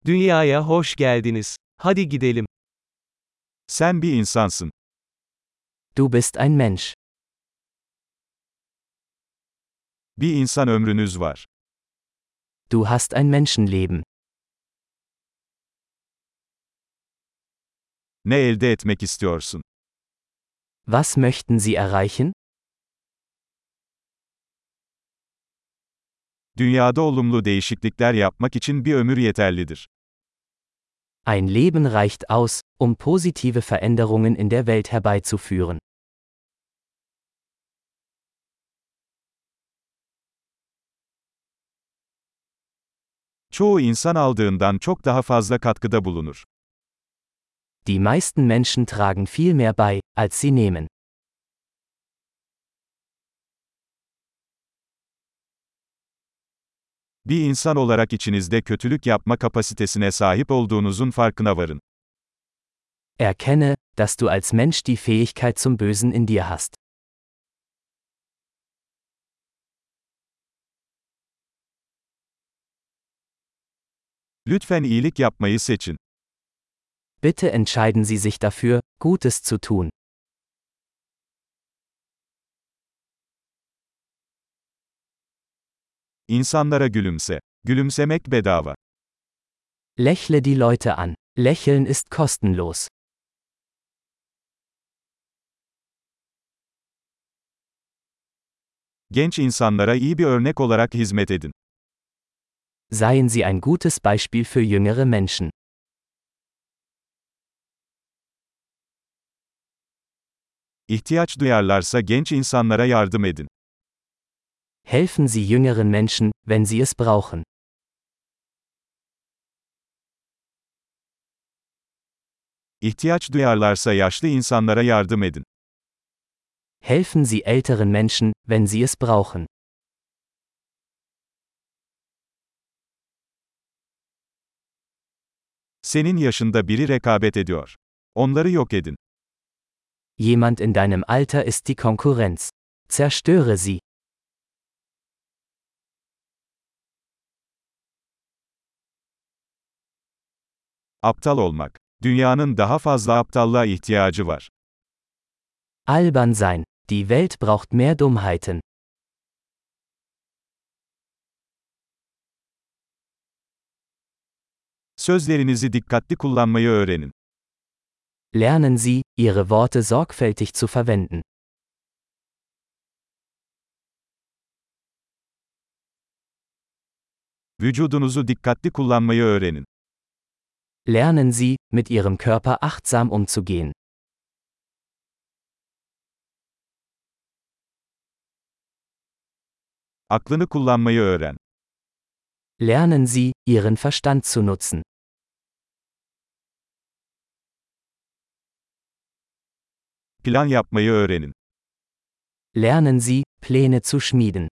Dünyaya hoş geldiniz. Hadi gidelim. Sen bir insansın. Du bist ein Mensch. Bir insan ömrünüz var. Du hast ein Menschenleben. Ne elde etmek istiyorsun? Was möchten Sie erreichen? Dünyada olumlu değişiklikler yapmak için bir ömür yeterlidir. Ein Leben reicht aus, um positive Veränderungen in der Welt herbeizuführen. Çoğu insan aldığından çok daha fazla katkıda bulunur. Die meisten Menschen tragen viel mehr bei, als sie nehmen. Bir insan olarak içinizde kötülük yapma kapasitesine sahip olduğunuzun farkına varın. Erkenne, dass du als Mensch die Fähigkeit zum Bösen in dir hast. Lütfen iyilik yapmayı seçin. Bitte entscheiden Sie sich dafür, Gutes zu tun. İnsanlara gülümse. Gülümsemek bedava. Lächle die Leute an. Lächeln ist kostenlos. Genç insanlara iyi bir örnek olarak hizmet edin. Seien Sie ein gutes Beispiel für jüngere Menschen. İhtiyaç duyarlarsa genç insanlara yardım edin. Helfen Sie jüngeren Menschen, wenn sie es brauchen. İhtiyaç duyarlarsa yaşlı insanlara yardım edin. Helfen Sie älteren Menschen, wenn sie es brauchen. Senin yaşında biri rekabet ediyor. Onları yok edin. Jemand in deinem Alter ist die Konkurrenz. Zerstöre sie. Aptal olmak. Dünyanın daha fazla aptallığa ihtiyacı var. Albern sein. Die Welt braucht mehr Dummheiten. Sözlerinizi dikkatli kullanmayı öğrenin. Lernen Sie, Ihre Worte sorgfältig zu verwenden. Vücudunuzu dikkatli kullanmayı öğrenin. Lernen Sie, mit Ihrem Körper achtsam umzugehen. Aklını kullanmayı öğren. Lernen Sie, Ihren Verstand zu nutzen. Plan yapmayı öğrenin. Lernen Sie, Pläne zu schmieden.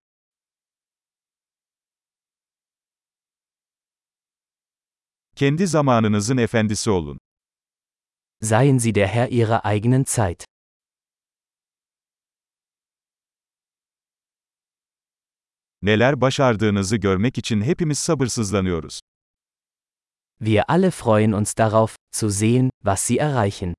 Kendi zamanınızın efendisi olun. Seien Sie der Herr Ihrer eigenen Zeit. Neler başardığınızı görmek için hepimiz sabırsızlanıyoruz. Wir alle freuen uns darauf, zu sehen, was Sie erreichen.